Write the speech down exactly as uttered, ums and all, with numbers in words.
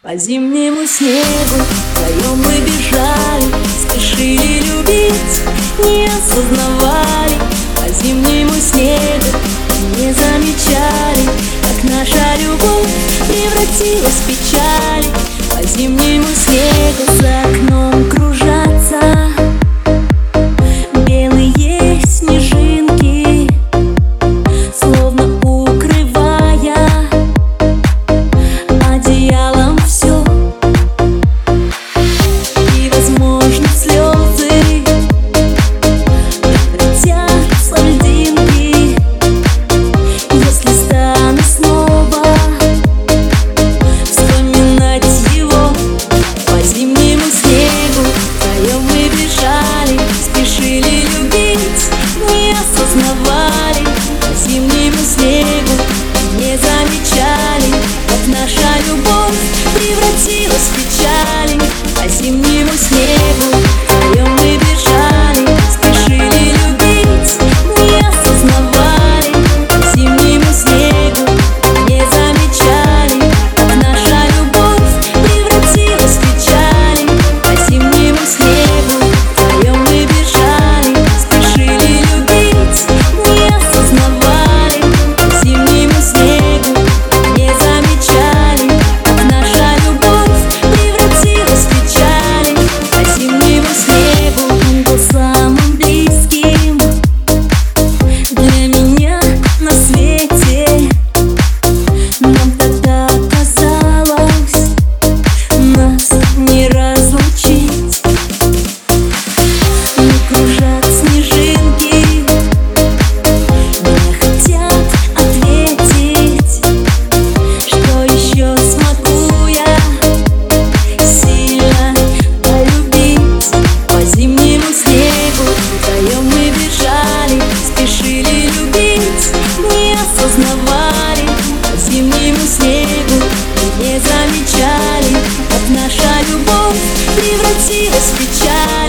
По зимнему снегу вдвоем мы бежали, спешили любить, не осознавали. По зимнему снегу не замечали, как наша любовь превратилась в печаль. По зимнему снегу за окном кружатся белые снежинки, словно укрывая одеялом все. И, возможно, слезы превратятся в льдинки, если стану снова вспоминать его. По зимнему снегу вдвоем мы бежали, спешили любить, не осознавали. По зимнему снегу не замечали, как наша любовь превратилась в печаль. По зимнему снегу вдвоем мы бежали, спешили любить, не осознавали. По зимнему снегу не замечали, как наша любовь превратилась в печаль. По зимнему снегу вдвоем мы бежали, спешили любить, не осознавали. По зимнему снегу не замечали, как наша любовь превратилась в печаль. По зимнему снегу он был самым близким для меня на свете. Нам тогда казалось, нас не разлучить. Но кружат снежинки, не хотят ответить, что еще смогу я сильно полюбить. По зимнему снегу вдвоем мы бежали, спешили любить, не осознавали. По зимнему снегу не замечали, как наша любовь превратилась в печаль.